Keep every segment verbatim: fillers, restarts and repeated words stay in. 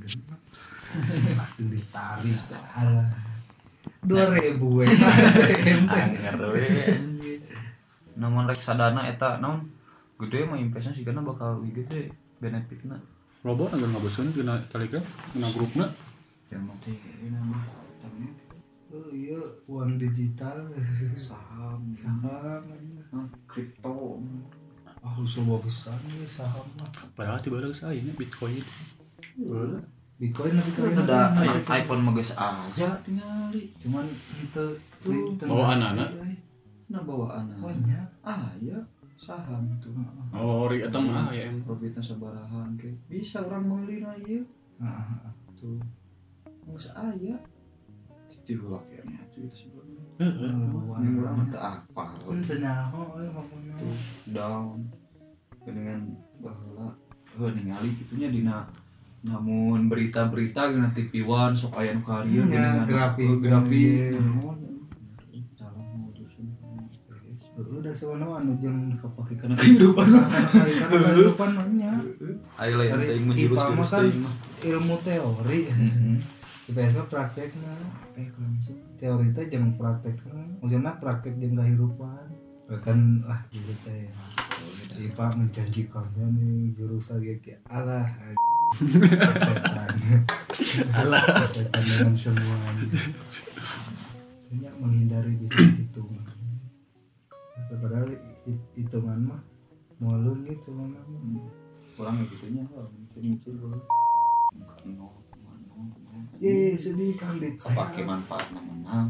genep langsung ditarik alah dua ribu we anger we namun rek sadana eta naon gede mah investasi karena bakal gede benefitna robot anggar ngaboseun dina Telegram dina grupna jangan mati ini mah tapi oh iya uang digital saham saham kripto ah usah besar nih saham mah padahal tiba ada saya ini Bitcoin heeh Bitcoin tapi itu ada iPhone mah geus aja tingali cuman itu tuh bawa anak-anak nah bawa anak banyak ah ya saham tuh oh ri eta mah ya em profitna sabarahan ke bisa orang meulina ieu nah tuh geus aya diulah kayaknya itu itu sebenarnya heeh ini urang teu apal teu nyaho euy ngomongna tuh down dengan baheula heuh ningali kitunya dina namun berita-berita gina T V One sok aya nu karya dengan grafik grafik udah sebenarnya anu jeung kapake kana kehidupan kana kehidupan mah nya aya lain teh menjurus-jurus teh ilmu teori tiba-tiba praktekna langsung teori teh jeung praktekna maksudna praktek jeung kehidupan bahkan ah gitu teh I P A menjanjikannya nih jurusan kayak alah setan alah setan dengan semuanya banyak menghindari bisa hitungan padahal hitungan mah mualun gitu mah kurang gitunya oh mikir-mikir dulu bukan nol kemana eh sedih kan dit kepake manfaatna menang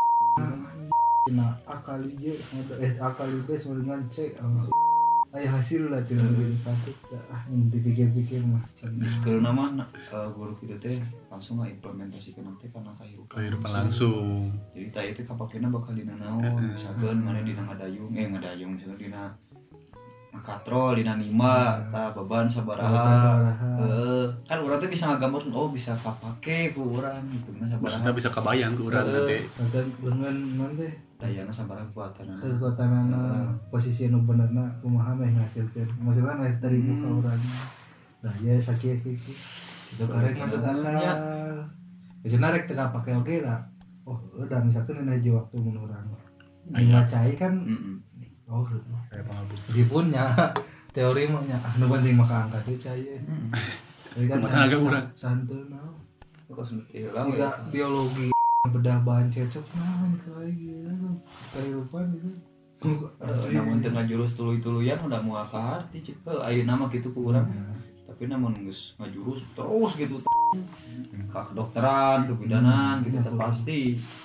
nah akal ieu eh akal ieu sama dengan C aya hasil lah tidak patut ah dipikir-pikir mah karena mah guru kita teh langsung ngaimplementasikeun teh kana kehidupan kehidupan langsung jadi tah itu kapakena bakal dina naon misalkan mana dina ngadayung eh ngadayung misalkan dina ngakatrol dina nima tah beban sabaraha heeh kan urang teh bisa ngagambarkeun oh bisa kapake ku urang gitu mah sabaraha maksudnya bisa kebayang ke urang teh kan dengan non teh dayana sabaraha kekuatanana kekuatanana posisi nu benerna kumaha meh ngasilkeun maksudna meh dari muka urang nah ya sakieu kitu itu karek masuk akalnya maksudna rek teu kapake oge lah oh udah misalkan dina hiji waktu mun urang ngacai kan oh saya paham meskipun nya teori mah nya ah nu penting mah kaangkat we cai tapi kan agak urang santeun naon kok seperti lah juga biologi bedah bahan cecok naon kayak gitu kehidupan gitu namun tengah jurus tuluy-tuluyan udah mau akarti cik ke ayeuna mah kitu ku urang tapi namun geus ngajurus terus gitu ka kedokteran kebidanan gitu teh pasti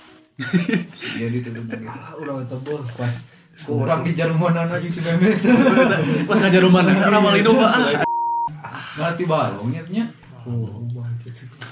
dia dituduh gitu urang tebel pas kurang di jarumanana jeung si Memet pas ka jarumana ramal indung mah ngarti balongnya nya oh bangkit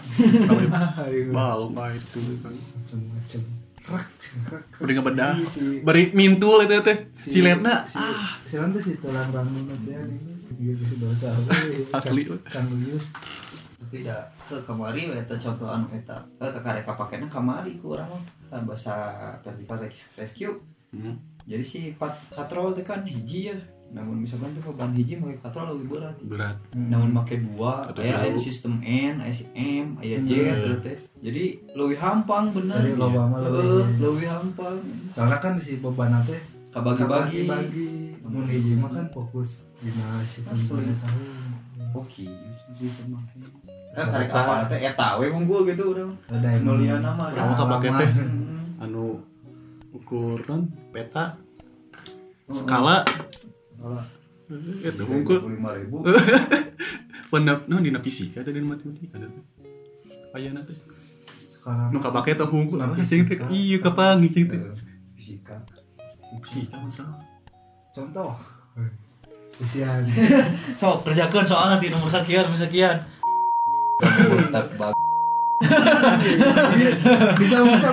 balong mah itu kan macam-macam krak krak beri ngebedah beri mintul eta teh ciletna ah silan teh si tulang rambutna teh ini geus dosa asli Kang Lius tapi ya ke kamari we eta contoh anu eta ke karek kapakena kamari ku urang mah bahasa vertical rescue jadi si katrol teh kan hiji ya namun misalkan tuh beban hiji pakai katrol lebih berat berat namun pakai dua aya aya sistem N aya M aya J gitu teh jadi lebih hampang bener dari loba mah lebih lebih hampang soalnya kan si beban teh kabagi-bagi bagi mun hiji mah kan fokus dina sistem tahu oke sistem mah kan karek apa teh eta we unggul gitu urang nulian nama kamu kapake teh anu ukur kan peta skala itu unggul lima ribu pendap no dina fisika teh dina matematika teh ayana teh sekarang nu kapake teh unggul cing teh ieu kapangi cing teh fisika fisika masalah contoh usian sok kerjakeun soal nanti nomor sekian nomor sekian tak bag bisa bisa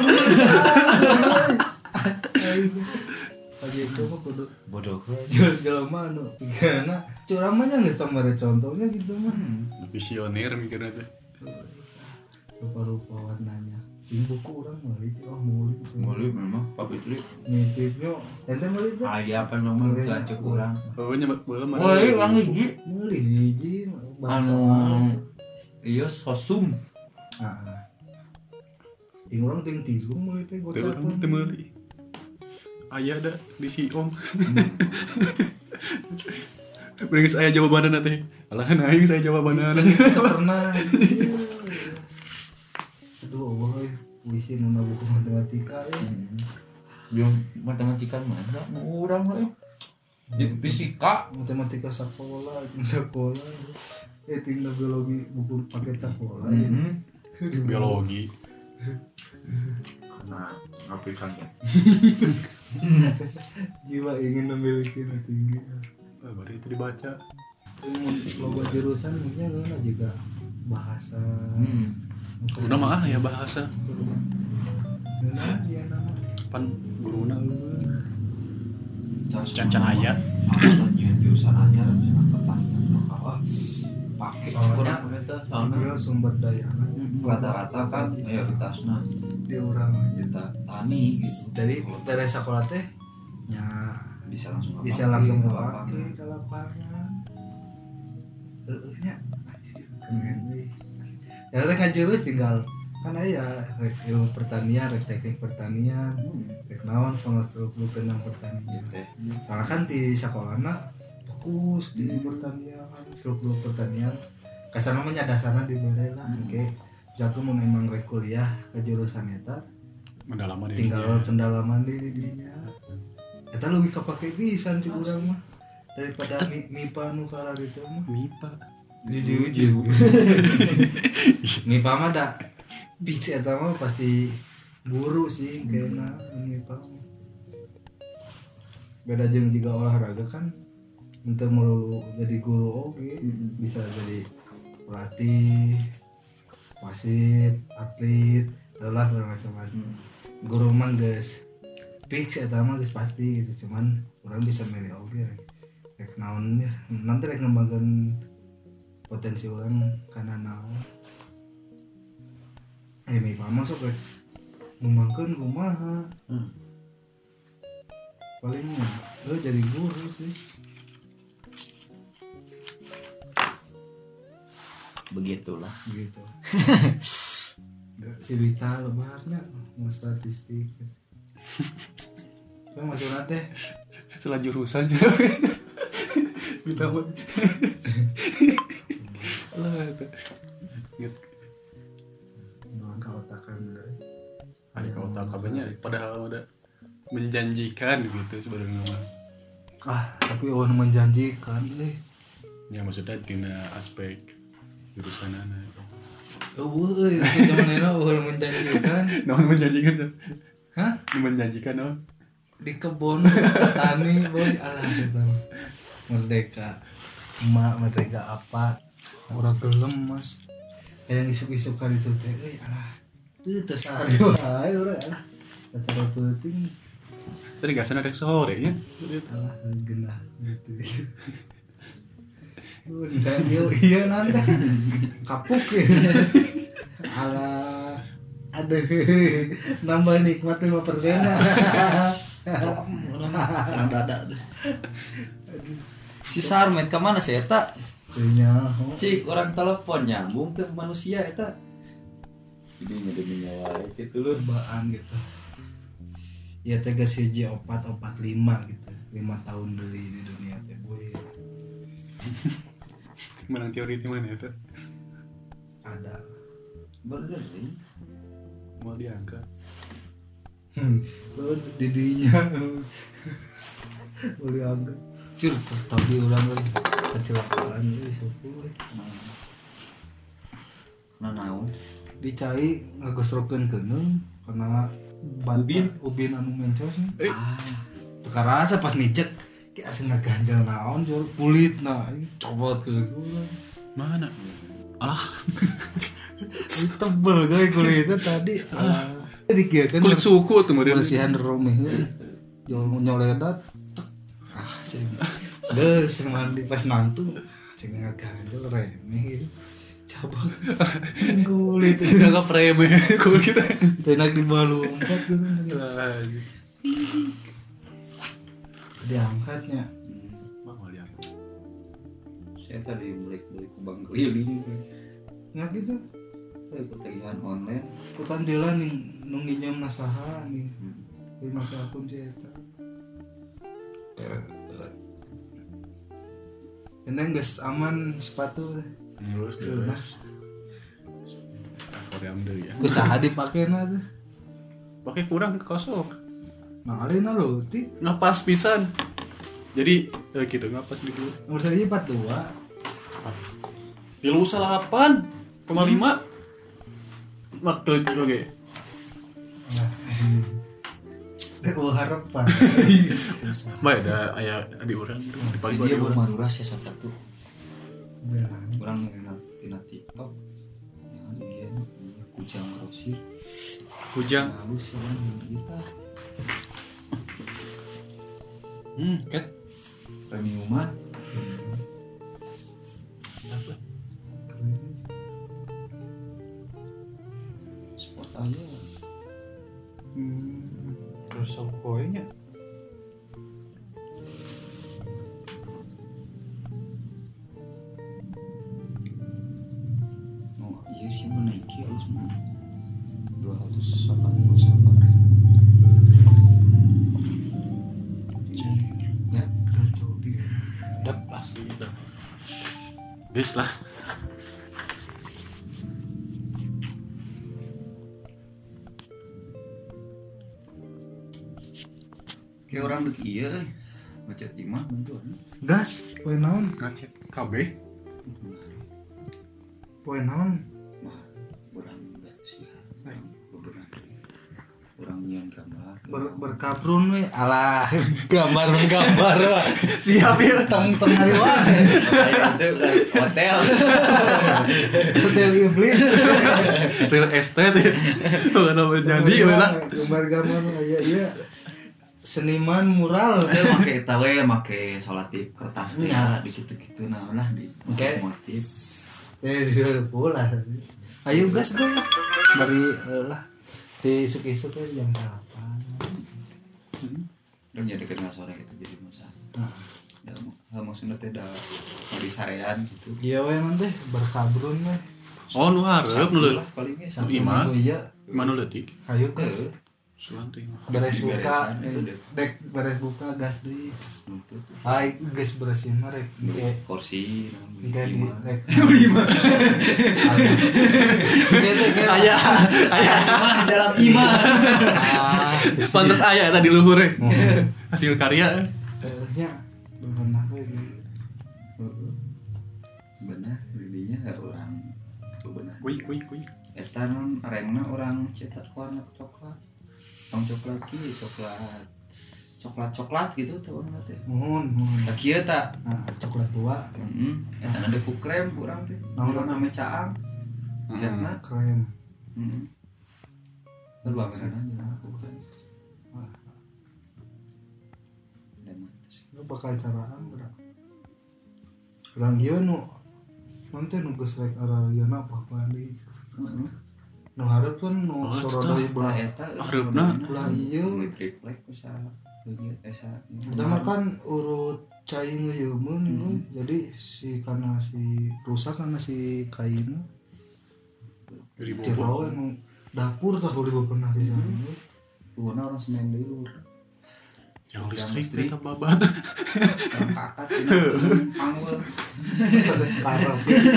pagi itu mah kudu bodoh jelema anu pigana curang mah nya geus tambah contohnya gitu mah visioner mikirna teh rupa-rupa warnanya di buku urang meuli oh meuli meuli memang pabrik nitipnya ente meuli teh aya apa nomor gacek urang oh nya baheula mah woi urang hiji meuli hiji anu iya sosum ah ing urang ting tilu mulai teh Teu gocap urang teu meuli. Aya da di si Om. Beringis aya jawabanana teh. Alah kan aing saya jawabanana. Kan kita pernah aduh Allah euy puisi nu buku matematika ya yang matematika mana nu urang we di fisika matematika sekolah sekolah eh tinggal biologi buku paket sekolah mm-hmm. Biologi. Karena ngapikannya jiwa ingin memiliki yang tinggi Ah, baru itu dibaca. logo jurusan mungkin kan juga bahasa hmm. Guruna mah ah ya bahasa. Nah, dia nama Pan guruna eueuh. Can Can aya. Alanya jurusan anyar misalnya pertanian bakal pakai Soalnya eta dia sumber daya rata-rata kan mayoritasna di orang aja kita tani gitu. dari dari sekolah teh nya bisa langsung bisa kepake, langsung lapangan. kepake ke lapangan heeh nya anjir keren euy ya teh kan jurus tinggal kan aya rek ilmu pertanian rek teknik pertanian Hmm. rek naon pengastruktur tentang pertanian Teh. karena kan di sekolahna fokus di pertanian struktur pertanian kasarna mah nya dasarna dibere lah engke jago mun emang rek kuliah ke jurusan eta Mendalaman tinggal pendalaman di didinya eta leuwih kapake pisan ti urang mah daripada mi, mipa nu kala ditu mah mipa. jujur mipa mah da fix eta mah pasti guru sih kayaknya mipa mah beda jeung jiga olahraga kan ente melulu jadi guru oke bisa jadi pelatih wasit atlet lah macam-macam guru mah geus fix eta mah geus pasti gitu cuman orang bisa milih oke rek naon ya nanti rek ngembangkeun potensi orang karena naon eh mi masuk rek ngembangkeun kumaha Hmm. paling lo jadi guru sih Begitulah. gitu si Wita lebarnya mau statistik kan maksudnya teh Salah jurusan aja. Minta mah. Lah eta. Ingat non kaotakan deh ada kota kabehnya padahal ada menjanjikan gitu sebenarnya mah. ah tapi orang menjanjikan eh Ya maksudnya dina aspek jurusan ana. oh woi zaman itu orang menjanjikan Naon menjanjikan tuh? hah Menjanjikan naon? di kebun petani boy alah gitu merdeka emak merdeka apa orang gelem mas yang isuk-isukan itu teh euy alah teu teu sare wae urang alah acara penting Tadi gak sana ada sore ya. alah genah gitu udah iya iya nanti kapuk ya alah ada nambah nikmat lima persen Senang dada tuh. Si Sarmet ke mana sih eta? punya Cik orang telepon nyambung ke manusia eta. Ini ngedemi nyawa gitu lur. cobaan gitu ya tegas hiji opat opat lima gitu lima tahun dulu di dunia teh boy Menang teori di mana itu? ada Bener sih. Mau diangkat. hmm lo didinya boleh angkat cur tapi orang lagi kecelakaan ini sepuluh Kena naon? dicai ngagosrokeun keunung karena ban ubin ubin anu mencos Eh. Ah, tukar aja pas mijek kayak asing ngaganjel naon jur kulit nah ini cobot ke Mana? Alah. tebel guys kulitnya tadi ah dikieukeun Kulit suku tuh model. bersihan romeh jol nyoledat ah sih geus mandi pas nantu cing ngaganjel remeh gitu cabut kulit Enggak preme kulit kita. tenak di bawah lompat gitu Lah. diangkatnya Mau diangkat. saya tadi balik balik ke Bang Keliling. Nggak gitu. Ikut tagihan online. Ikutan jalan nih nunggu jam nasaha nih. Hmm. Di make akun si eta. Enteng geus aman sepatu teh. Terus Lunas. Korea deui ya. Kusaha dipakena teh. Pakai kurang kosong. Nah, alina leutik. Ngapas pisan. Jadi eh, gitu ngapas di dulu. Nomor saya empat puluh dua. Tilu salapan koma lima. Mak keleutik oge. Teh oh harapan. Bae da aya di urang di pagi Dia di baru urang. maruras ya sabtu. Benar. Orang yang tina TikTok. Ya dia dia kujang rosir. Kujang. Halus ya kan kita. Hmm, ket. Premiuman. Sport aja. Hmm. Terus sama koenya. Oh iya sih menaiki harus mah dua ratus delapan puluh delapan. Ya, kacau dia. Dap asli itu. Geus lah. Kayak orang dek iya euy. Macet imah bentuan. Gas, poe naon? Ngecek K B. Poe naon? Mah orang enggak sih. Beberapa orang nyian gambar. Ber berkabrun we alah gambar-gambar siap ya teng-teng hari wae. Itu hotel. Hotel Iblis. Real estate ya. Bukan apa jadi lah. Gambar-gambar aya ieu seniman mural. Dia make eta we make solatif kertas teh Iya. di kitu-kitu nah lah di Oke. motif. Teh di pula. Ayo gas gue ya. Bari eh, lah di isuk-isuk we jam delapan. Dan jadi kena sore gitu jadi masalah. Nah, Ya mau maksudnya teh da di sarean gitu. ieu we nanti berkabrun we. Oh nu hareup nu leutik. Lah paling ge Satu imah. Iya. Mana leutik? Ayo gas. Sulan teh imah. Beres buka. Beresan, eh, udah. Dek beres buka gas deui. Nutup. Ai geus beresin mah rek ge Kursi ge di lima. rek lima. Gitu kan. Aya aya Imah di dalam imah. Ah, pantes aya tadi luhur we. Hasil karya. nya bebenah we gitu. Benar, jadinya enggak orang tuh benar. Kuy kuy kuy. Eta non arengna orang cetak warna coklat. Tong coklat ki coklat. Coklat-coklat gitu teh warna teh. Mohon, mohon. Da kieu ta. Nah, coklat tua, Heeh. Eta na deku krem urang teh. Naon Naon nama caang. Cepna. krem. Heeh. Teu bangeran aja bukan. Dan mantes. Lu bakal caraan gerak. Urang ieu nu nanti nu geus rek ararieuna apa deui. Heeh. Nu hareup kan nu Oh, sorodoy Tah belah. eta Hareupeuna. Ulah ieu. triplek bisa begitu esa. Pertama kan urut cai ngeuyeumeun hmm. Jadi si kana si rusak kana si kain Dari jero bawah. nu dapur tah kudu pernah pisan. Luhurna orang semen deui luhur. Yang listrik mereka babat. Orang kakat cenah panggul. Parah.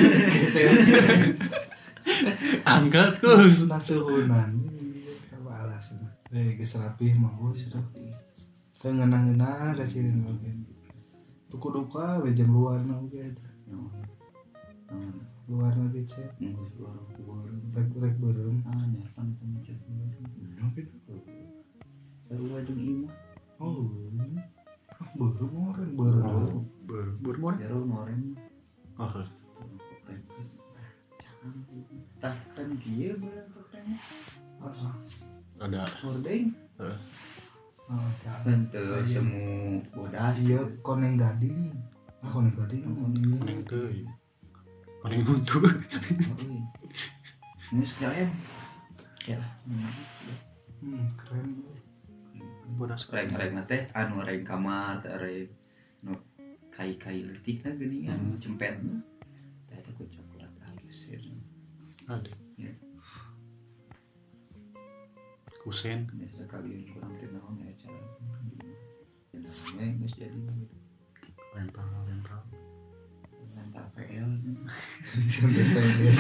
Angkat kus. Nasuhunan apa alasan eh geus rapih mah bos itu teu ngeunah-ngeunah rasirin oge tuku duka we jeung luarna oge eta luarna ge cet Enggak luar luar. rek rek beureum Ah nyapan itu mencet luar. oke Sarua jeung imah. oh ah beureum oren beureum Ber bermon. Jero ngoren. Oh. Tah kan kieu bulan tuh kan. ah Ada. Hordeng. Heeh. oh cah Henteu semu bodas ieu koneng gading ah koneng gading Kuning teh. Kuning untu. Ini sekarang ya hmm keren Bodas reng-reng teh anu reng kamar teh reng nu kai-kai leutikna geuningan Hmm. cempetna teh eta ku coklat halus ya Ada. Ya. Kusen. Biasa kalian kurang tinaon ya cara. Ya namanya geus jadi gitu. Rental, rental. Rental P L. Contoh tenis.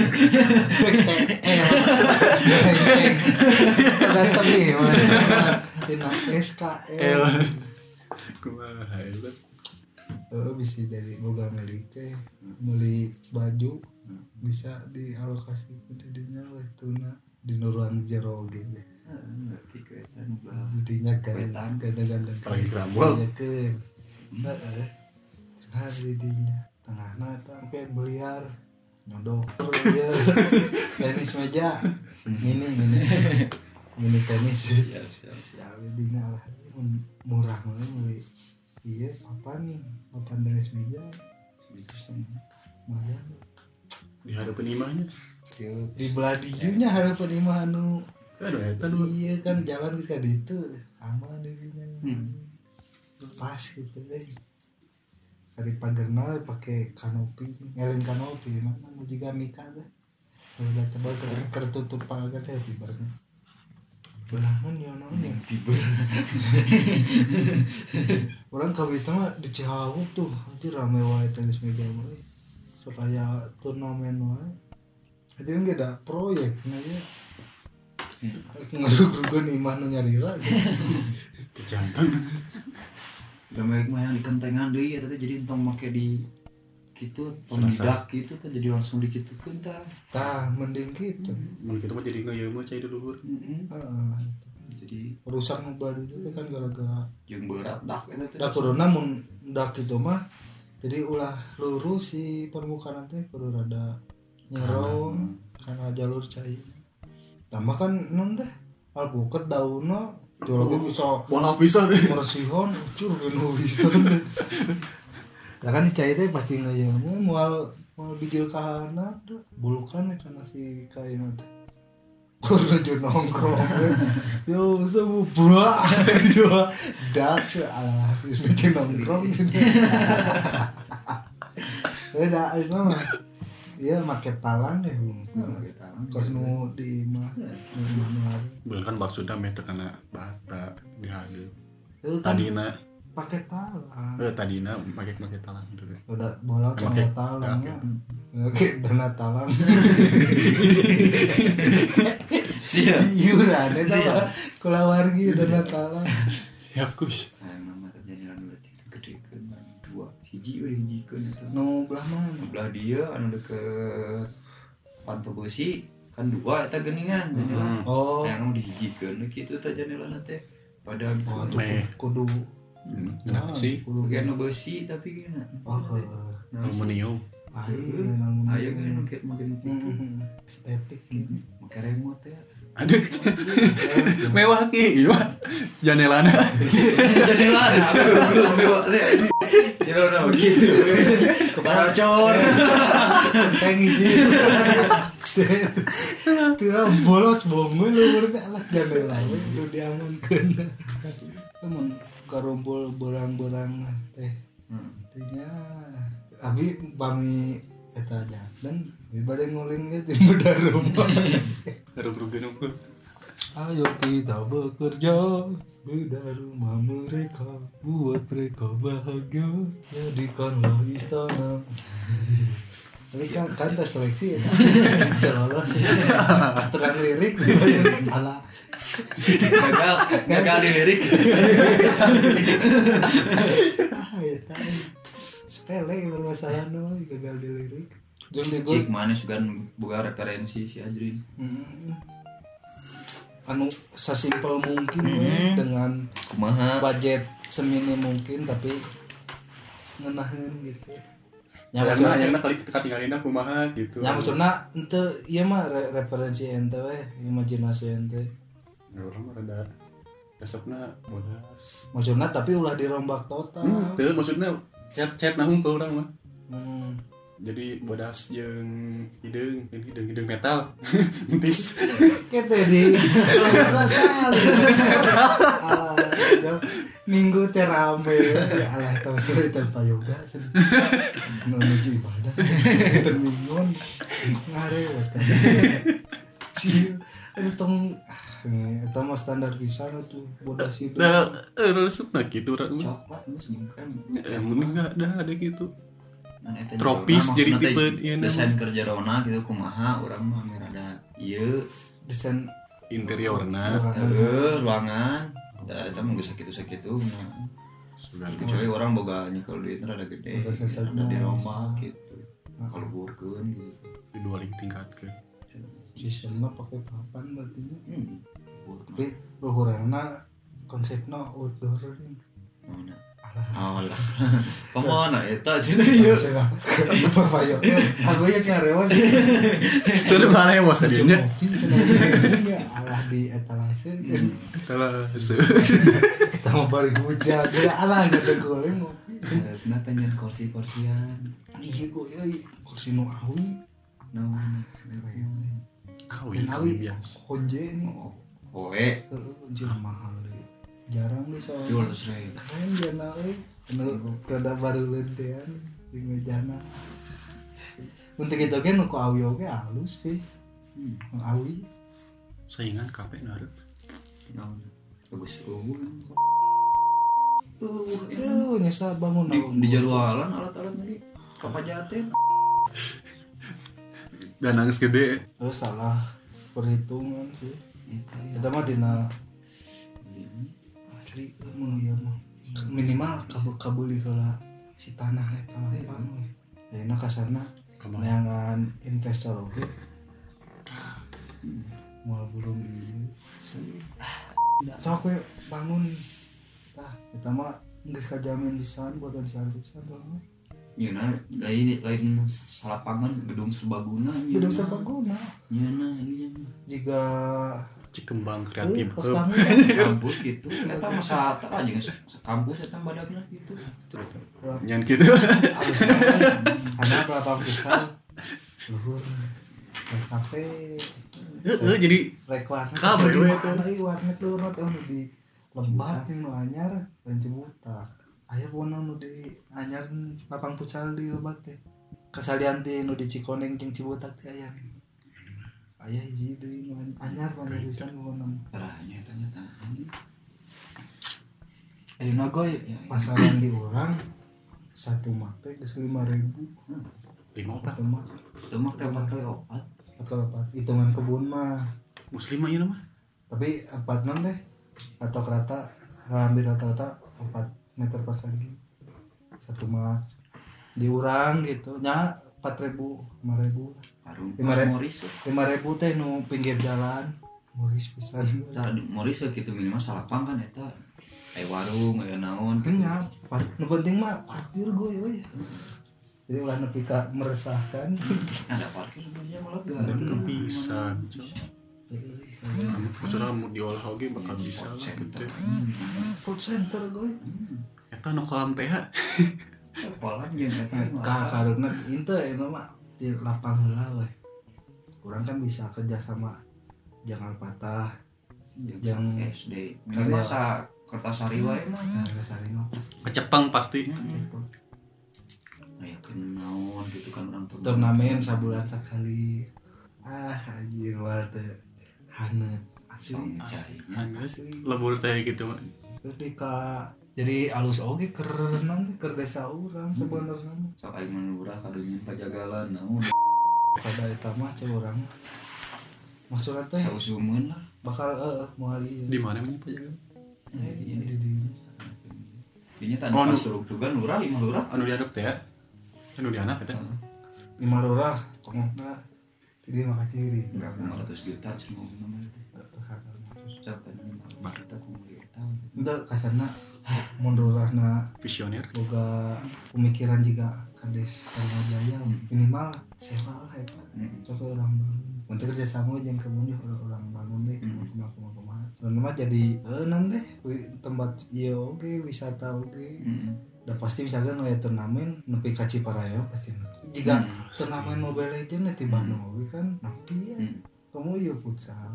Ganteng nih, mana tina S K L. Kumaha eta? Oh, bisa dari boga milik teh beli baju bisa dialokasi ke didinya weh tuna di ruang jero gitu. Ngerti ke eta nu belah. Didinya Wetan. ganda-ganda. Apalagi kerambol. Ya ke. Heeh. Nah, didinya tengahna eta sampai beliar nyodok ya tenis meja mini mini mini tenis Siap, siap. siap didinya lah murah banget beli iya apa nih papan tenis meja Terus lumayan Di hadapan imahnya. di belah diunya harapan imah anu Aduh eta dulu. iya kan jalan ke ditu aman didinya Hmm. pas gitu deh dari pagerna pakai kanopi ngelin kanopi mana mau juga mika deh kalau udah tebal ker kertutup pagar teh fibernya belahan ya namanya Fiber. orang kawita mah di Cihawu tuh aja rame wae tenis meja mah supaya turnamen wae aja kan gak ada proyek nah ya ngerug-rugun imah nu nyarira Kejantan. Lamek mah yang dikentengan deui eta teh jadi entong make di kitu tong Serasa. didak kitu teh jadi langsung dikitukeun tah. tah mending gitu Mun kitu mah jadi ngeuyeum mah cai di luhur. Heeh. ah Jadi rusak mobil itu teh kan gara-gara jeung berat dak eta teh. da kuduna mun dak kitu mah jadi ulah lurus si permukaan teh kudu rada nyerong karena jalur cai tambah kan non teh alpukat daunna jologe bisa Bola pisan deh. mersihon ucur geueuh pisan lah kan cai teh pasti ngeuyeum moal moal bijil kahana bulukan kana si kaina teh kurang aja nongkrong yo semua buah itu dak salah itu aja nongkrong sini beda itu mah iya make talang deh kos nu di mah Bener kan maksudna meh teu kana bata di hadeup. itu kan Tadina, pakai talang eh tadina make-make talang gitu. udah bola Pakai- sama talang ya oke dana talang Siap. iuran itu mah kula wargi dana talang Siap kus. Nah, mama terjadi anu leutik teh gedekeun dua. Hiji we hijikeun eta. nu belah mana Belah dia anu deket Panto Besi kan dua eta geuningan. Hmm. oh Yang anu dihijikeun kitu teh janelana teh pada oh tuh Meh. kudu Hmm. Kenapa sih? kudu bagian nu besi tapi kena. oh Aluminium. ayo Ayo kan make make kitu. estetik gitu Make remote ya. Aduh. Mewah ki, iya. Janelana. Jadi lah, aku mewah teh. Jangan begitu. Keparacor. kenteng gitu tidak bolos bongun lu berarti alat jandela we lu diamankeun mun karumpul berang-berang teh dinya abi bami eta janten dibade ngulin ge di bedah rumah Rugi nunggu. ayo kita bekerja beda rumah mereka buat mereka bahagia jadikanlah istana tapi kan kan tes seleksi ya lolos terang lirik ala Gagal, gagal di lirik. ah ya tahu sepele bermasalah no gagal di lirik jeung di Cik mana juga boga referensi si Adrin. hmm. anu sesimpel mungkin we, dengan Kumaha? budget seminim mungkin tapi ngenahin gitu Ya ya karena maksudnya yang kali ketinggalinna kumaha gitu. ya maksudnya ente iya mah re- referensi ente we imajinasi ente Ya orang mah rada resepna bodas. maksudnya tapi ulah dirombak total Hmm, teu maksudna chat-chat nahung ke urang mah. hmm. Jadi bodas jeung hideung, jeung hideung hideung metal. Entis. Kete di rasa minggu teh rame ya alah tong sore tanpa yoga menuju ibadah termingon ngarewas kan sih itu tong eta mah standar pisan tuh bodas itu nah resep nah gitu orang coklat geus nyingkrem eh mending enggak ada ada gitu Nah, eta tropis juga, jadi maksudna tipe teh ieu desain kerja rona gitu kumaha urang mah rada ieu desain interiorna heeh ruangan da eta mah geus sakitu-sakitu nah sudah kecuali orang boga nyekel duit rada gede Boga sesak rada di naon. rombak gitu kalau burkeun gitu di dua lagi tingkat ke sistemnya pakai papan berarti nya. hmm burkeun Tapi luhurana konsepnya outdoor ini mana alah alah pamana eta cenah ieu saya perpayo aku ya carewas terus mana ya bos adinya alah di etalase salah sese kita mau balik hujan dia alah gak ada goleng ngopi nah tanyain kursi-kursian iya gue ya kursi nu awi naon awi dan awi biasa honje nih oh oe honje mahal deh jarang nih soalnya jual terus rey keren dia naik rada baru lentean di mejana untuk itu kan nu ku awi oge halus sih nu awi saingan kape naruh naon bagus eueuh uh Tuh, nyesa bangun di, di jadwalan alat-alat tadi kapajaten dan nangis gede oh salah perhitungan sih kita mah dina asli mun ieu mah minimal kabeli heula si tanah eta lapang we ya enak kasarna neangan investor oge moal belum ieu sok we bangun tah eta mah geus kajamin pisan potensial pisan tah Yeuna lain lain salapangan gedung serbaguna gedung serbaguna yeuna ieu jika Cikembang eh kreatif pas hub. kami kampus gitu eta mah satra aja geus kampus eta badagna gitu nyan gitu halus ada berapa pisan luhur kafe heeh jadi rek warnet Kabeh di we mana ieu warnet luhur teh nu di Lebak nu anyar dan Cibutak aya pona nu di anyar lapang futsal di Lebak teh kasalian teh nu di Cikoneng jeung Cibutak teh aya aya hiji deui nu anyar anyar pisan pona caranya eta nya tah ayeuna goy pasaran di urang satu mak teh geus lima ribu lima opat satu mak itu mah teh pakai opat empat kali empat hitungan kebun mah muslimah ieu mah tapi empat non deh atau rata hampir rata-rata empat meter persegi satu mak diurang gitu nya empat ribu lima ribu Harum Lima re- Moris lima ribu teh nu pinggir jalan Moris pisan tah Moris kitu minimal salapang kan eta aya warung aya naon nya nu penting mah parkir gue euy jadi ulah nepi ka meresahkan ada parkir sebenarnya malah dan gak kepisan maksudnya mau diolah oge bakal bisa lah gitu food center gue eta nu kolam teh kolam jeung eta ka karena itu itu mah di lapang heula we kurang kan bisa kerja sama jangan patah yang S D minimal sa Kertasari wae mah nah sari mah pasti kecepang pasti aya kenaon gitu kan orang tua turnamen sabulan sekali ah anjir war teh hanet asli asli lebur teh gitu mah terus di ka jadi alus oge keur naon teh keur desa urang sebenarnya sok aing menurah kadunya pajagalan naon pada eta mah cek urang maksudna teh sausumeun lah bakal heeh moal ieu di mana mah pajagan aya di di dieu di dinya Oh, tanpa nu- suruk tugan lurah imah lurah anu diadop teh anu dianak eta lima lurah pokokna jadi mah kaciri berapa lima ratus juta cenah nama itu cak kan lima juta kumpul eta itu kasarna mun lurahna visioner boga pemikiran juga kades Karma Jaya minimal sewa lah eta coba orang untuk kerja sama jeung kebun orang orang bangun deh kumaha kumaha kumaha dan mah jadi eh nanti tempat ieu oge wisata oge dan pasti misalkan aya turnamen nepi ka Ciparaya pasti jika turnamen Mobile Legends ti Bandung oge kan nepi ya kamu ieu futsal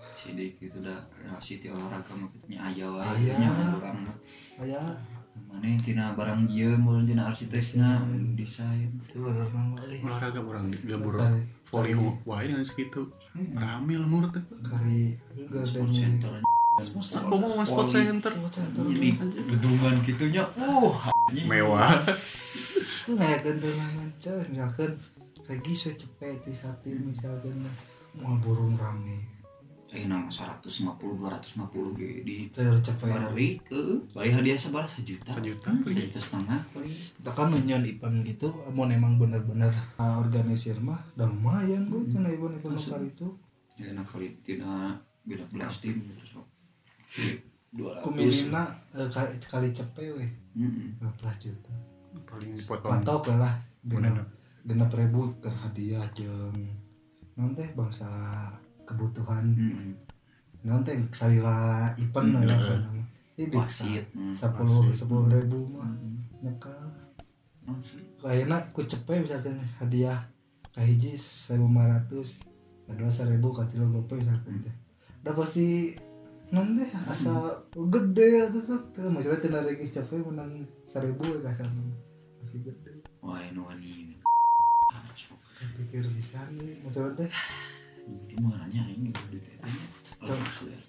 sidik itu dah siti olahraga mah kita nya aya wae Aya. nya urang mah aya maneh tina barang jieun mun tina arsitekna desain itu bener mah euy olahraga orang gabur Kari- volley wae dengan segitu rame lemur teh kari enggak sport center aku mau nge sport center ini gedungan gitunya uh anjing. mewah itu ngayakeun teh mancan misalkan lagi saya cepet di satu misalkan mau burung rame eh nama seratus lima puluh dua ratus lima puluh ge di tercapai bari ke bari hadiah sabaraha sejuta sejuta sejuta setengah paling kita kan nunjuan event gitu mau emang bener-bener uh, organisir mah udah lumayan bu cina event-event lokal itu ya nak kali tina beda belas tim terus dua ratus kuminina uh, kali, kali cepet weh heeh lima belas juta paling dipotong patok lah Bener. genap genap ribu ke hadiah jeung nanti bangsa kebutuhan heeh nanti salila event Hmm, lah iya. ini wasit hmm, sepuluh wasit. sepuluh ribu mah hmm, nyekal wasit. kayaknya ku cepet misalkan hadiah kahiji seribu lima ratus kedua seribu katilu gope misalkan teh udah pasti nanti asa gede atau sok tuh maksudnya tina lagi cepet menang seribu ya kasar pasti gede wah anu wani saya pikir bisa nih maksudnya teh di mana nya ini duit eta Coba.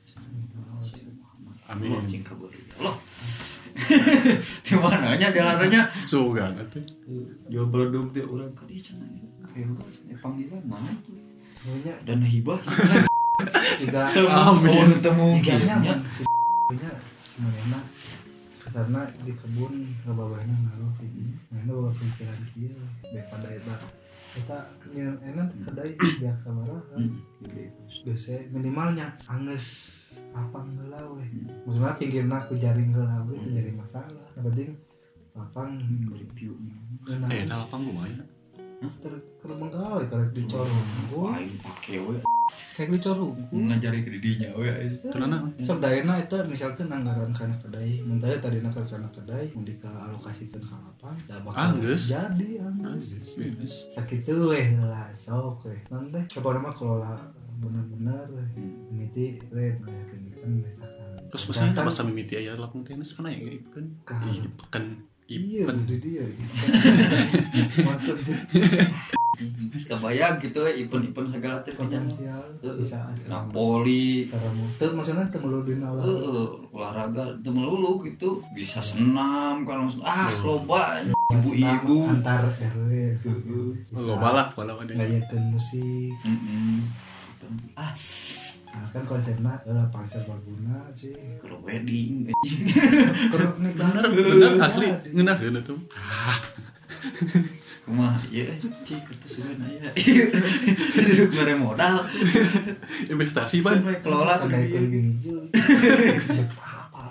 Amin. Allah cing kabari Allah di mana nya jalannya sugan atuh jual beledug teh urang ka dieu cenah kayak urang cenah panggilan naon tuh punya dan hibah tiga amin temu tiganya man si nya mana kesana di kebun ngababahna ngaruh gitu mana bawa pikiran kieu daripada eta eta nyeun enak kedai biak sabaraha biasa minimalnya angges lapang heula we maksudna pinggirna ku jaring heula we teu jadi masalah yang penting lapang review enak eh eta lapang lumayan ter keur menggal karek dicorong wah ini pake we kayak dicorong ngajari ke didinya we kenana sok daena eta misalkan anggaran kana kedai mun teh tadina ka kana kedai mun dialokasikeun ka lapang da bakal Anggeus. jadi anggeus beres sakitu weh lah sok weh nanti kapan mah kelola bener-bener ini ti red kayak kan misalkan terus maksudnya bahasa mimiti aya lapang tenis kana ya ikan ikan iya ikan di dia mantap sih kebayang gitu we event-event segala teh potensial bisa aja Napoli cara muter maksudnya temelu di nalar Heeh, olahraga teu melulu gitu bisa senam kan maksud ah loba ibu-ibu antar R W loba lah kalau ada ngayakeun musik heeh ah nah kan konsepnya adalah pangsa baguna sih ke wedding keruk nih bener bener asli ngeunaheun atuh kumaha ieu cik itu sudah aya duduk mere modal investasi ban kelola ngayakeun hijau apa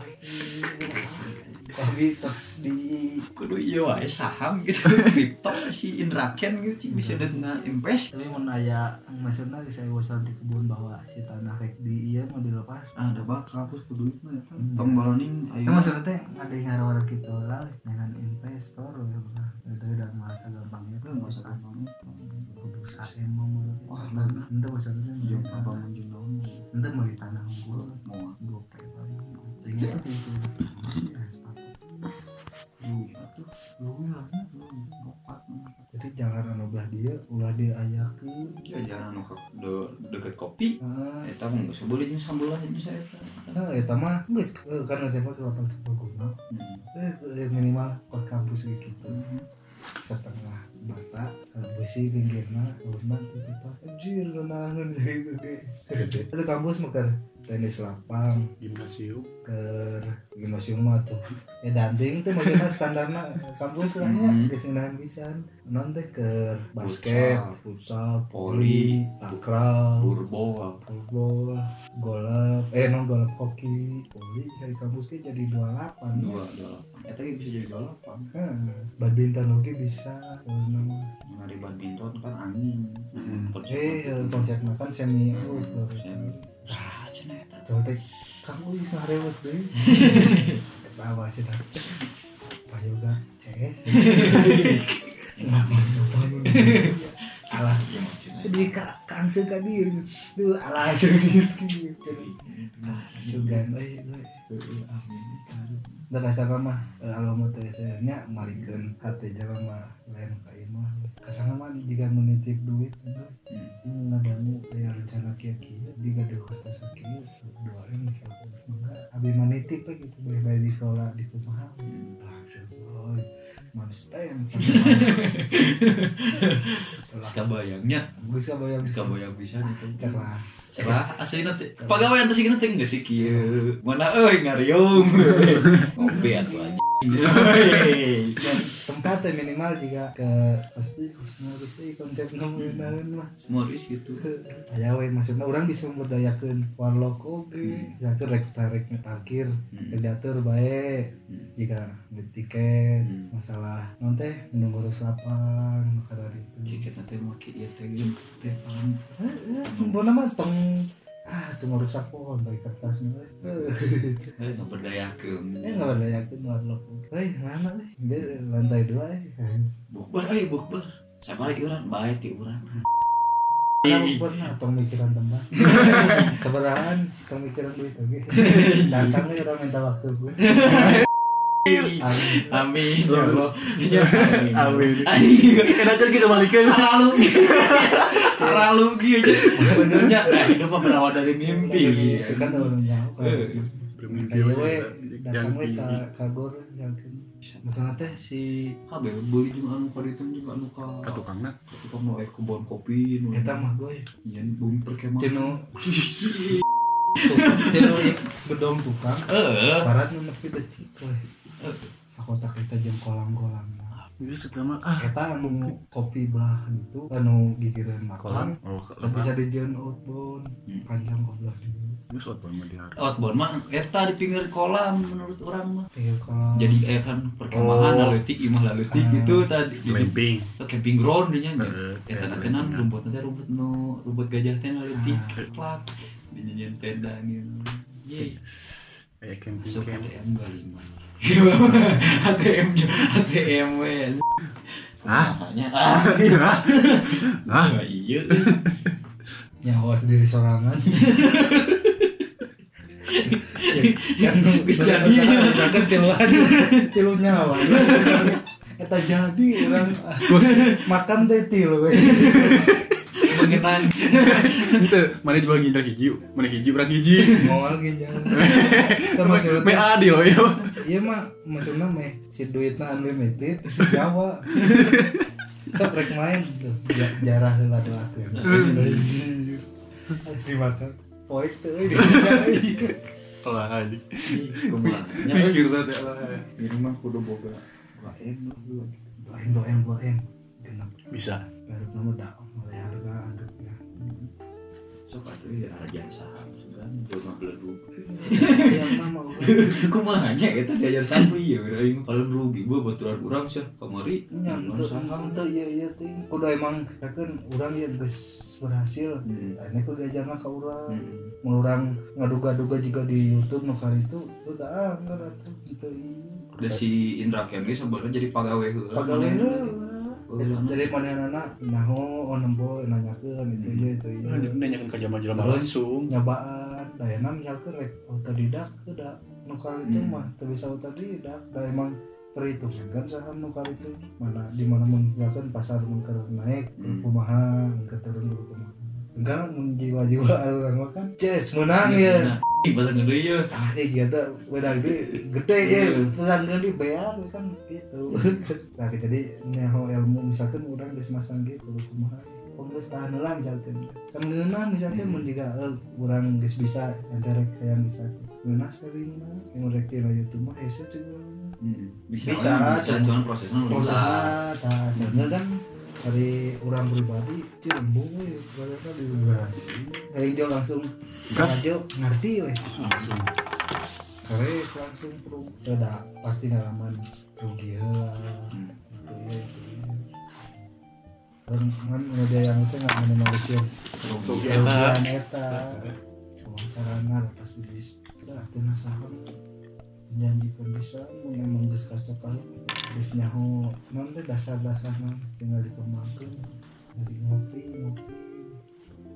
lagi terus di kudu ieu wae saham gitu kripto si Indra Ken gitu cik bisa dengan invest tapi mun aya maksudna saya bosan di kebun bahwa si tanah rek di ieu mah dilepas ah da bakal hapus ku duit mah eta tong baloning itu ayo maksudnya teh ngade ngarawar kita lah dengan investor ya benar itu udah masa gampangnya itu masa gampang itu kudu saem menurut wah tanah itu maksudnya jeung jeung abang jeung naon itu meuli tanah unggul mau gope paling tinggal itu ya sepakat duit atuh luwih lah opat jadi jangan anu belah dia ulah diayakeun ya jangan nu de deket kopi ah eta mah geus boleh jeung sambelah jeung saya eta nah eta mah geus eh, karena saya mah delapan sepuluh eh minimal per kampus gitu setengah bata besi pinggirna urna titipa anjir ngeunangeun sakitu ge itu kampus mah keur tenis lapang gimnasium ke gimnasium mah tuh ya danting tuh maksudnya standarna kampus lah ya geus ngeunaheun pisan non teh ke basket futsal voli takraw turbo football golf eh non golf hoki voli bisa di kampus ge jadi dua puluh delapan dua dua eta ge bisa jadi dua puluh delapan Hah, badminton oke bisa nama ngari badminton kan angin eh konsepnya kan semi outdoor semi ah cenah eta coba teh kamu bisa rewes deh eta apa sih dah apa yoga cs ngapain ngapain alah ya mah cenah jadi ka kang suka dir tuh ala gitu gitu sugan euy euy amin karu da kasana mah alamat teh nya malikeun hate jalema lain ka ieu mah kasana mah jiga menitip duit ngadamu aya rencana kieu-kieu digaduh kata sakieu doain misalkan mangga abi menitip we gitu boleh bae dikelola di kumaha langsung oi mams teh kabayangnya geus kabayang kabayang pisan itu cerah cerah aslinya teh pagawean teh sigina teh geus kieu mana euy ngariung ngopi atuh aja tempatnya minimal juga ke pasti Moris sih konsep ngomongin mah Moris gitu aya we maksudna urang bisa memberdayakeun warlock oge ya ke rek tarik parkir diatur bae jika beli tiket masalah non teh menunggu lapang kada ditu tiket teh make ieu teh geus teh paham heeh mbona mah tong ah tuh merusak pohon baik kertasnya eh nggak berdayakeun eh nggak berdayakeun warlock euy mana euy dia lantai dua eh bukber euy bukber sabari urang bae ti urang bukber nah tong mikiran tempat sabarahan tong mikiran duit oge datang we urang minta waktu gue amin amin ya Allah amin anjing enakeun kita balikeun lalu lalu gitu benernya hidup mah berawal dari mimpi kan orang jauh bermimpi we datang we ka ka gor jalkeun masalah teh si kabeh beuli jeung anu ka ditu jeung anu ka ka tukangna ka tukang nu aya kebon kopi nu eta mah gue yen bumi perkemahan tinu tinu gedong tukang heeh barat nu nepi decik we sakotak eta jeung kolam-kolam geus eta mah ah eta anu kopi belah gitu anu gigireun makan bisa dijieun outbound panjang goblok geus outbound mah dihar outbound mah eta di pinggir kolam menurut orang mah pinggir kolam jadi eh kan perkemahan leutik imah leutik gitu tadi camping camping ground nya Heeh, eta teh nan rumput teh rumput nu rumput gajah teh leutik plak dijieun tenda gitu ye kayak camping masuk camp A T M dua puluh lima A T M A T M we ah hanya ah ah iya nyawa sendiri sorangan kan geus jadi kan tiluan tilu nyawa eta jadi urang makan teh tilu we mengenang henteu mana jual ginjal hiji mana hiji urang hiji moal ginjal teh maksudna me adil we ieu mah maksudna meh si duitna unlimited nyawa sok rek main tuh jarah heula doakeun dimakan poek teh euy lah aja kumaha nya gitu teh lah di rumah kudu boga doain dulu doain doain doain genep bisa baru nama dak mulai harga anduknya sok atuh ya jasa sebenarnya jelema beledug yang mama kumaha nya eta diajar sampli ya aing paling rugi gua baturan urang sih kamari nya teu teu ieu ieu teh kudu emang yakeun urang ieu geus berhasil tanya kudu diajarna ka urang mun urang ngaduga-duga juga di YouTube nu kali itu udah ah enggak atuh teu ieu da si Indra Kenli sebenarnya jadi pagawe heula pagawe heula jadi manehna naho oh nembo nanyakeun itu ieu itu ieu nanyakeun ka jelema-jelema langsung nyobaan dayana misalkeun rek otodidak da nu kali itu mah teu bisa otodidak da emang perhitungan kan saham nu kali itu mana di mana mun misalkeun pasar mun keur naik kumaha mun keur turun kumaha enggak mun jiwa-jiwa urang mah kan ces menang ya ibarat ngeudeui ye ah eh giada wedang gede gede ya pesan gede bayar kan gitu nah jadi nyaho ilmu misalkan urang geus masang ge kudu kumaha geus tahan heula misalkan kan ngeunah misalkan mun jiga urang geus bisa enterek yang bisa ngeunah sering mah yang rek di YouTube mah hese juga bisa bisa cuman prosesnya udah bisa tah sebenarnya kan dari orang pribadi cirembung we bagusnya di luar aing jo langsung ngajo ngerti we langsung karek langsung pro ada pasti ngalaman rugi heula gitu ya itu kan kan ada yang itu nggak minimalisir rugi eta eta wawancarana pasti bisa kita teh nasahan menjanjikan bisa mun emang geus kaca kali geus nyaho non teh dasar-dasarna tinggal dikembangkeun dari ngopi ngopi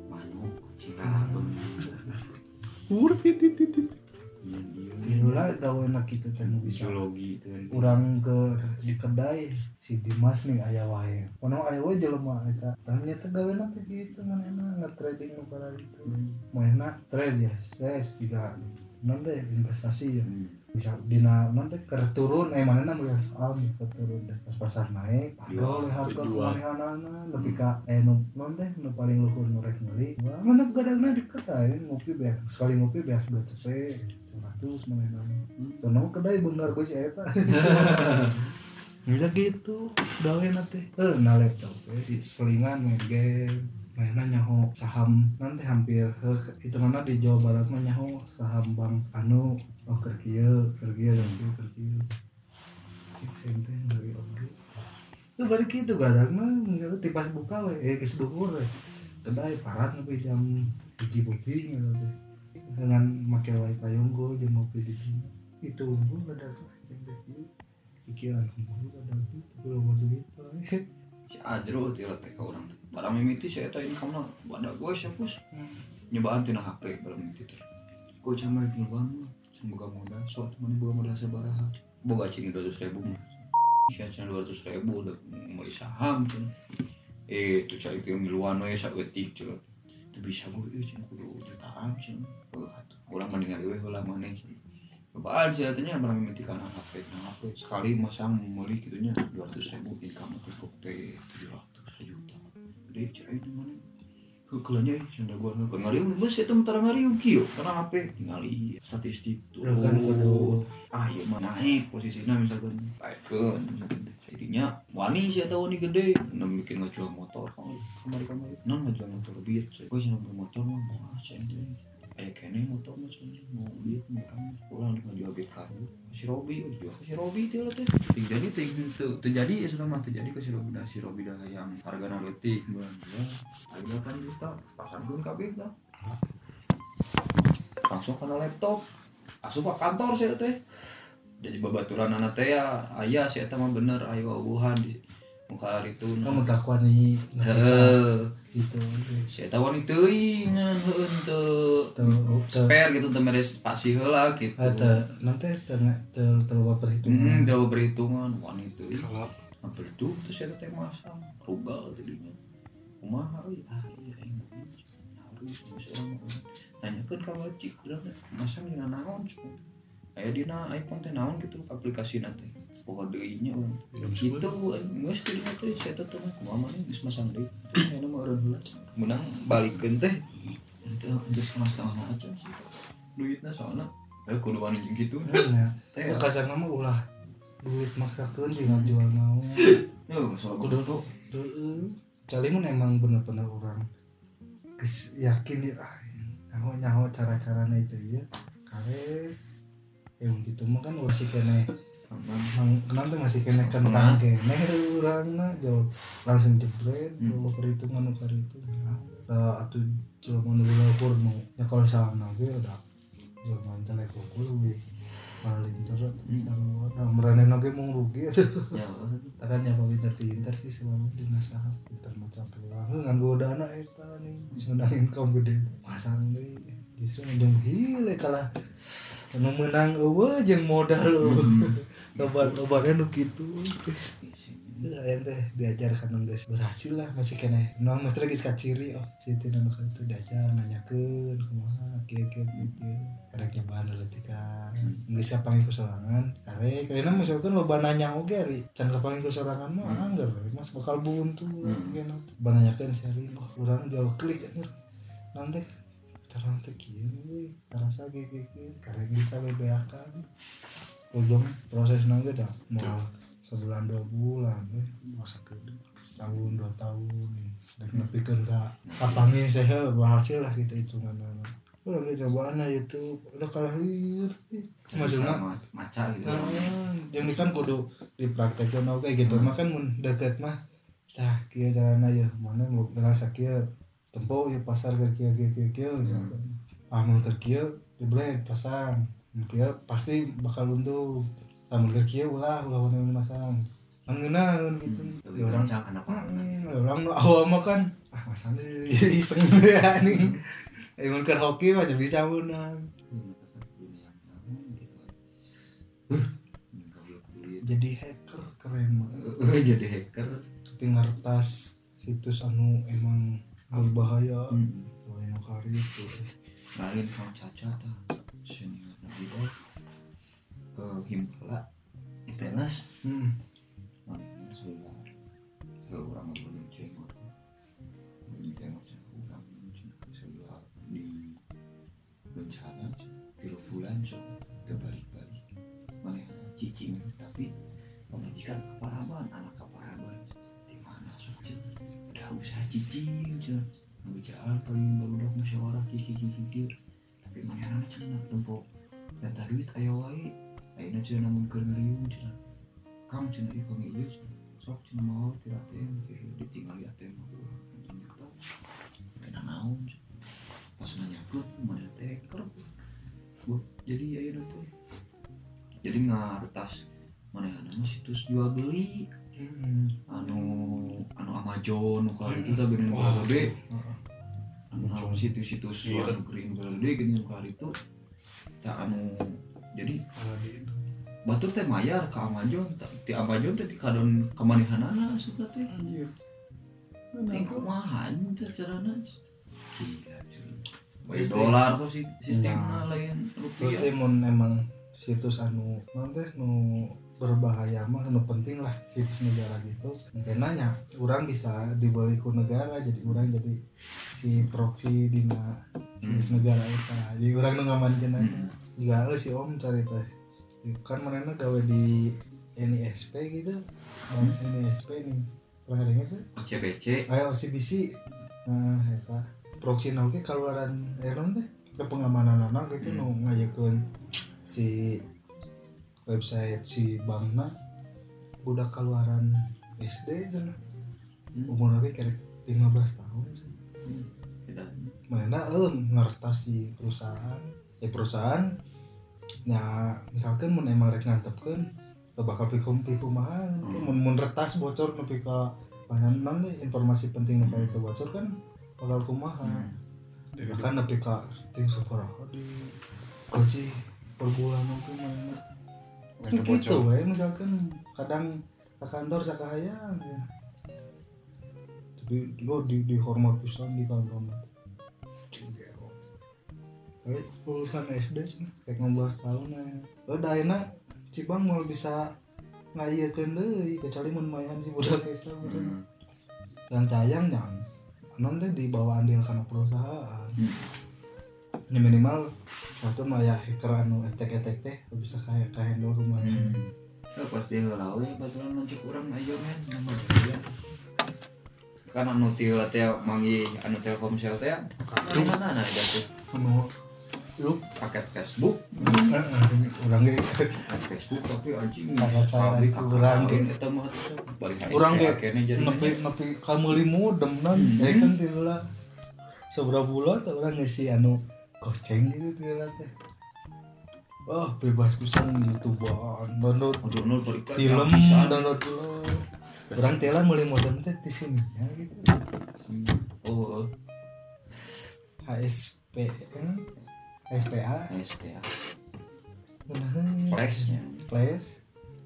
Urip titit. Iyalah gawe nak kitu teh nu bisa. Biologi itu kan. Urang ke di kedai si Dimas nih aya wae. Ono aya wae jelema eta. Tah nya teh gawena teh kitu manehna nge-trading nu kana itu. Moehna trade ya, ses juga non teh investasi ya. Bisa dina non teh keur turun eh manehna meuli saham keur turun pas pasar naik padahal harga manehanana lebih ka eh nu non teh nu paling luhur nu rek meuli. Wah mana gadangna di kedai ngopi beas sekali ngopi beas dua cepet ratus manehna. Sono kedai beungar geus eta. Bisa gitu gawena teh. Eh na laptop eh selingan main game. Mainna nyaho saham nanti hampir itu mana di Jawa Barat mah nyaho saham bank anu oh keur kieu keur kieu keur kieu cik sente dari oge itu balik kitu gadang mah tipas buka we eh geus duhur we kedai parat nepi jam hiji peuting gitu teh dengan make wae payunggo jeung ngopi di dieu itu unggul badak jeung geus ieu pikiran unggul badak tapi loba duit we si Ajro teh teh ka urang teh barang mimiti saya teh income-na bada gue sia pus nyobaan tina H P barang mimiti teh gue camar nyobaan can boga modal soal teman boga modal sabaraha boga cing dua ratus ribu mah sia can dua ratus ribu udah meuli saham cenah eh tu cai teh miluan we saeutik cenah teu bisa gue ieu cenah kudu jutaan cenah heuh atuh urang mendingan we heula maneh cobaan sih katanya barang mimiti kana H P nah H P sekali masang meuli kitu nya dua ratus ribu income teh P tujuh ratus juta gede cerai di mana kekelanya canda gua nu ngariung geus eta mentara ngariung kieu kana H P ningali statistik tuh kan kudu ah ieu mah naik posisina misalkan baikeun jadinya wani sih eta wani gede nu bikin ngajual motor kamari-kamari non ngajual motor bieu gua cenah motor mah moal cenah aya kene motor mah cenah mau bieu murah urang ngajual bieu karbu si Robi jual si Robi teh lah teh jadi teh terjadi ya sudah mah terjadi ke si Robi dah si Robi dah yang harga naletik bulan bulan harga kan juta pasangkeun kabeh dah langsung kana laptop asup ka kantor saya teh jadi babaturan anak teh ya aya si eta mah bener aya wawuhan di muka hari itu kamu takwa nih heeh gitu si eta wani teuing ngan heueun teu spare gitu teu meres pasi heula gitu eta nanti teu teu teu perhitungan hmm teu perhitungan wani teuing Kalap. hampir itu terus si eta teh masang rugal tadinya kumaha euy ah ieu aing harus seorang nanyakeun ka wajib urang masang dina naon aya dina iPhone teh naon gitu aplikasina teh oh deui nya urang kitu geus teh teh si eta teh kumaha mah geus masang deui teh aya mah eureun heula menang balikeun teh teh geus masang aja sih duitna soalna eh kudu wani jeung kitu nya teh kasarna mah ulah duit maksakeun jeung ngajual naon yo soal kudu tuh heeh calimun emang bener-bener urang geus yakin ya nyaho nyaho cara-carana itu ya kare yang gitu mah kan masih kene kenapa masih kene kentang kene urangna jauh langsung jebret bawa perhitungan ukar itu lah atuh jelema nu ukur nu ya kalau salah ge udah jelema telepon kudu paling terus sarua meranena ge mung rugi atuh ya kan nya pinter pinter sih selalu dina saha pinter macam peluang ngan godana eta nih sudah income gede masang deui justru njung hile kalah anu menang eueuh jeung modal eueuh loba-lobana nu kitu aya teh diajarkan geus berhasil lah masih keneh nu mah teh geus kaciri oh si teh nu kitu diajar nanyakeun kumaha kieu-kieu kieu karek nyobaan leutik kan geus kapanggih ku sorangan karek karena misalkan loba nanya oge ari can kapanggih ku sorangan mah anggar mas bakal buntu kena bananyakeun sering oh urang jauh klik anjir nanti cara teh kieu we karasa ge ge karek bisa bebeakan ujung prosesna ge dah moal sebulan dua bulan eh masa kedua setahun dua tahun dan nepikeun ka kapanggih saya berhasil lah gitu hitunganna udah cobaan itu udah kalah liur maksudna maca gitu yang ini kan kudu dipraktekkeun oge gitu mah kan mun deket mah tah kieu carana ya mana mau ngerasa kieu tempo ya pasar ke kieu kieu kieu kieu misalkan ah mun ke kieu dibeli pasang kieu pasti bakal untung tamun keur kieu ulah ulah wani masang ngeunaan gitu orang sang anak orang nu awal mah kan ah masang iseng anjing Emang ke hoki mah jadi bisa menang. Jadi hacker keren mah. Jadi hacker Tapi ngertas situs anu emang berbahaya. hmm. Tuh anu kari itu. Lain kalau caca tah senior nabi oh ke Himpala Itenas Hmm. mana sebelah ke orang punya cengor punya cengor orang punya sebelah di bencana tiga bulan so terbalik-balik mana cicing tapi pemajikan kaparaban anak kaparaban di mana so udah usaha cicing cina ngejalan paling baru dah musyawarah kiki kiki kiki tapi mana anak cina tempo dan duit ayo wae ayeuna cina namun keur ngeriung cina kang cina ieu kang ieu sok cina mau ti A T M kieu ditinggal A T M urang anjing teh kana naon pas nanyapkeun mana teh keur bu jadi ayeuna teh jadi ngartas manehna mah situs jual beli Hmm. anu anu Amazon nu kali itu teh geuning gede anu anu situs-situs Iya. anu geuning gede geuning kali itu tah anu jadi batur teh mayar ka Amazon tah ti Amazon teh dikadon ka manehanana asup teh Anjir. teh kumaha teh carana gila cuy dolar tuh si- sistemna lain rupiah Berarti mun emang situs anu non teh nu berbahaya mah anu penting lah situs negara gitu. Kenanya orang bisa dibeli ku negara jadi orang jadi si proxy dina situs negara eta. Jadi orang nu ngamankeun Hmm. juga euy si Om cari teh. Kan manehna gawe di N I S P gitu. Hmm. N I S P nih. Pernah dengar tuh? O C B C Aya O C B C. Nah, eta proxy na oge kaluaran eron teh ke pengamananana gitu Hmm. nu ngayekeun si website si bankna budak kaluaran S D cenah. Hmm. Umurna ge kerek lima belas tahun cenah. tidak Manehna eueuh ngertas si perusahaan. Eh perusahaan nya misalkan mun emang rek ngantepkeun teu bakal pikum kumaha Hmm. mun mun retas bocor nepi ka panjang teh informasi penting nu kali teu bocor kan bakal kumaha. Hmm. Bahkan nepi ka ting sabaraha di gaji per bulan itu mana Nggak gitu bocor. wae misalkan kadang ke kantor sakahayang ya. Tapi lo di dihormat pisan di kantor kayak lulusan S D sih kayak lima belas tahun ya lo daena cibang mau bisa ngayekeun deui kecuali mun mayan si budak eta Hmm. dan cayang jangan non teh dibawa andil karena perusahaan. Hmm. Ini minimal satu mah ya hacker anu etek-etek teh bisa kayak ka handle rumah. Hmm. Oh, pasti heula we baturan nuncuk urang ayo men nama dia. Kan anu ti heula teh mangi anu Telkomsel teh di mana na ada teh Anu lu paket Facebook, urang ge paket Facebook tapi anjing Kakak saya pabrik urang ge. eta mah teh bari H S P urang ge kene jadi nepi nepi ka meuli modem nan Hmm. ya kan teh heula saberapa bulan teh urang ngisi anu goceng gitu teh heula teh. Wah, bebas pisan YouTubean, download download bari ka film, pisan. download film. Urang teh lah meuli modem teh di sini ya gitu. Oh, H S P eh? H S P A H S P A. Bener. Flashnya. Flash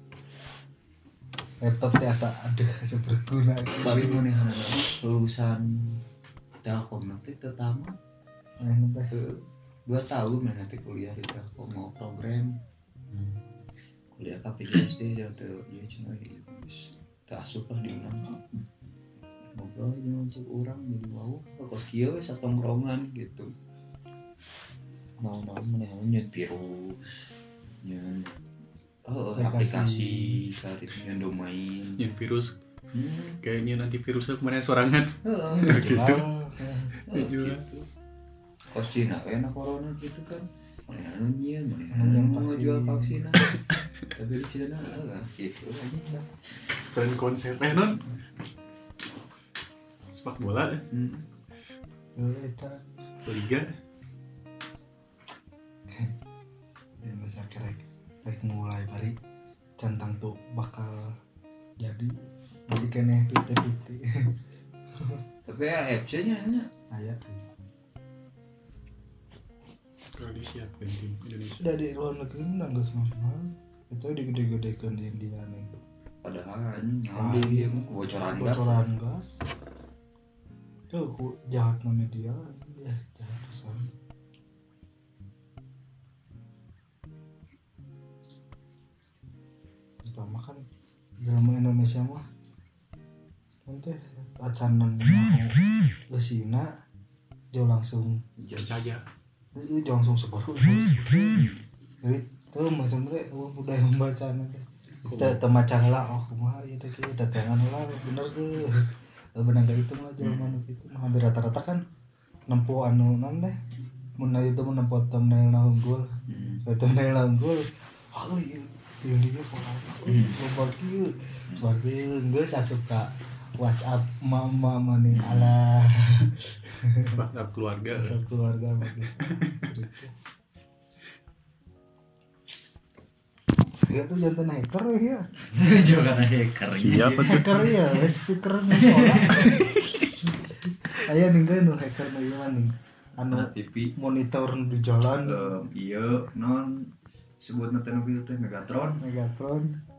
laptop teh asa aduh asa berguna Bari manehana lulusan Telkom nanti teu tamat anu teh ke dua tahun mana teh kuliah di Telkom mau program kuliah K P G S D jadi teu ieu cenah ieu geus teu asup lah di urang ngobrol jeung lanceuk urang jadi wow ka kos kieu we satongkrongan gitu naon-naon manehna nyeun virus nyeun oh aplikasi karit nyeun domain Yang virus hmm kayaknya nanti virusnya kemarin sorangan. heeh jual Dijual. kos Cina kayaknya corona gitu kan mana anu nyeun mana Anu nyeun anu vaksin. jual vaksin tapi di Cina lah gitu aja lah Brand konsep eh non sepak bola hmm. dulu eta liga yang bisa kerek kerek mulai bari centang tuh bakal jadi masih kene piti-piti tapi A F C nya nya aya disiapkan tim Indonesia. Sudah di luar negeri menang geus normal. Itu digede-gedekeun di India nih. Padahal anjing dia kebocoran gas. Bocoran gas. Tuh ku jahatna media, ya jahat pisan. Pertama kan drama Indonesia mah nanti acanan mau kesina dia langsung Percaya. itu langsung sebaru jadi tuh macam teh budaya membaca nanti kita temacang lah oh kumaha itu kita tangan lah bener tuh bener gak itu mah jaman gitu mah hampir rata-rata kan nempo anu nanti mun itu mun nempo thumbnail na unggul thumbnail na unggul oh iya dia foto loba kieu sebagai geus asup ka WhatsApp mama maning ala WhatsApp keluarga. WhatsApp keluarga bagus. Ya tuh jantan hacker ya. Juga kan hacker. Siapa tuh? Hacker ya, speaker musola. Aya ninggalin nu hacker nu ieu nih. Anu T V monitor di jalan. Iya non sebutna teh nu teh Megatron. Megatron.